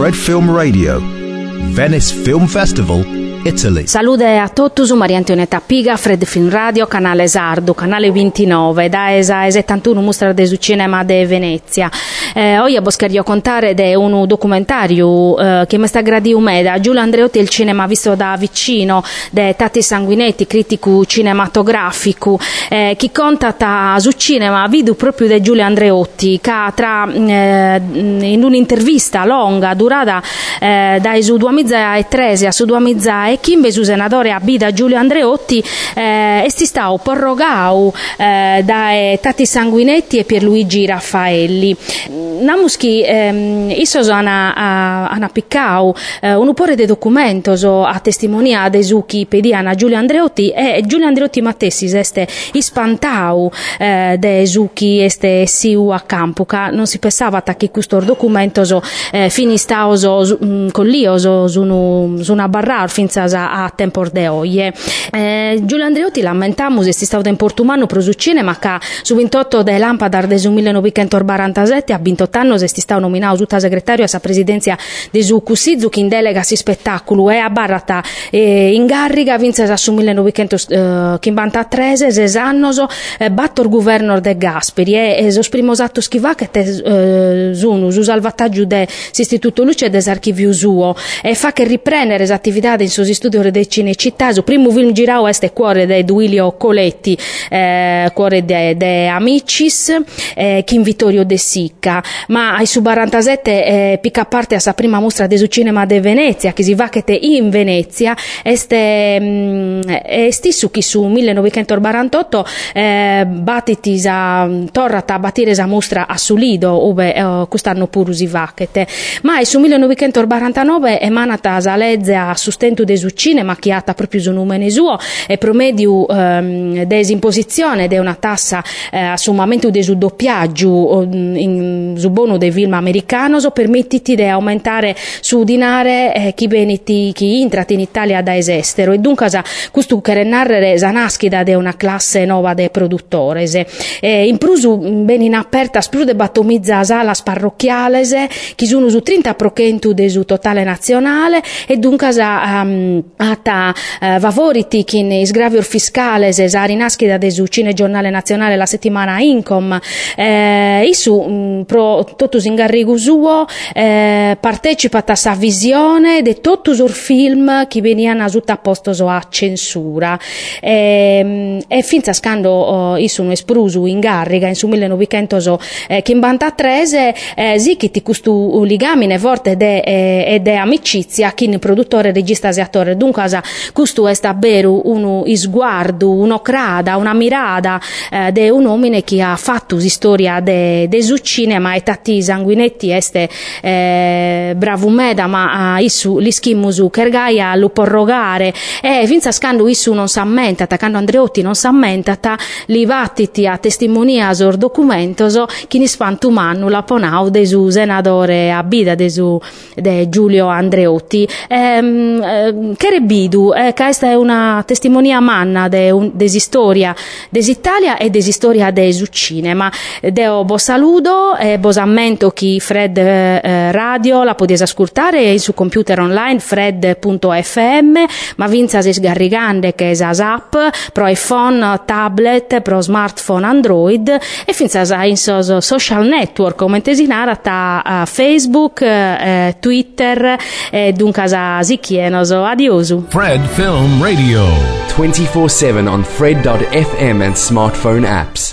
Fred Film Radio, Venice Film Festival, Italy. Salute a tutti, Maria Antonietta Piga, Fred Film Radio, canale Sardo, canale 29, da ESA 71 mostra del cinema de Venezia. Oggi voglio contare di un documentario che mi sta gradito da Giulio Andreotti, il cinema visto da vicino, de Tati Sanguinetti, critico cinematografico, che conta su cinema, video proprio di Giulio Andreotti, che in un'intervista lunga, durata dai su 2013 a su 2015, chi invece senatore a Bida Giulio Andreotti è stato prorogato da Tati Sanguinetti e Pierluigi Raffaelli. Namuschi isso hanno piccato un po' di documento a testimonia dei succhi pediana Giulio Andreotti, e Giulio Andreotti Mattessi este ispantau dei succhi este siu a Campuca. Non si pensava che questo documento finistao con l'io su una barra finza a tempo de oggi. Giulio Andreotti lamentamus è stato in Portumano pro su cinema che su 28 de Lampadar del 1947 a 28 anni è stato nominato tutta segretario a sa presidenza de su Cussizu che in delega si spettacolo e a barrata in Garriga vinse su 1953 6 anni battor governor de Gasperi e sos primos attos chi va che su salvataggio de istituto Luce des archivi suo e fa che riprendere le attività in suo studio de Cinecittà. Su primo film girao este Cuore de Duilio Coletti, Cuore de Amicis, Chin Vittorio De Sicca, ma ai su 47 picca parte a sa prima mostra de su cinema de Venezia che si va che te in Venezia este stisu chi su 1948 battiti torrata a battire sa mostra a Sulido ove quest'anno pure si va che te, ma su 1949 emanata sa legge a sustento de su cinema che ha proprio su numene suo e promedio desimposizione de una tassa a sommamento de su doppiaggio su bono de film americano permettiti di aumentare su dinare chi beniti chi intrati in Italia da estero e dunque questo che narrare sa naschida de una classe nuova de produttores in prusu ben in aperta spru de battomizza salas parrocchiales chi sono su 30% de su totale nazionale e dunque ata favoriti che in sgravior fiscale sa rinaschida de su Cine Giornale Nazionale la settimana Incom isu pro totus in garrigu suo partecipa a sa visione de totus or film che veniano sutta a posto a censura e finza scando isu un esprusu in Garriga in su 1900 che in bantatrese sì che ti custu ligamine forte de amicizia che in produttore regista e attore dunque questo è davvero uno sguardo un'ocrada una mirada de un uomine che ha fatto storia de su cinema e Tati Sanguinetti este bravo meda ma issu l'ischimusu kergaia lo porrogare e finza scando issu non s'ammenta quando Andreotti non s'ammenta li vattiti a testimonia sor documentos chi ni spantu mannu la ponau de su senatore a bida de Giulio Andreotti che rebidu questa è una testimonia manna desistoria desitalia e desistoria de su cinema deo bo saludo e bo ammento chi Fred Radio la potete ascoltare su computer online fred.fm ma vinza se sgarrigande che è app pro iPhone tablet pro smartphone Android e finza in social network come tesinara ta Facebook Twitter dunque si chienoso adiosu Fred Film Radio 24/7 on Fred.fm and smartphone apps.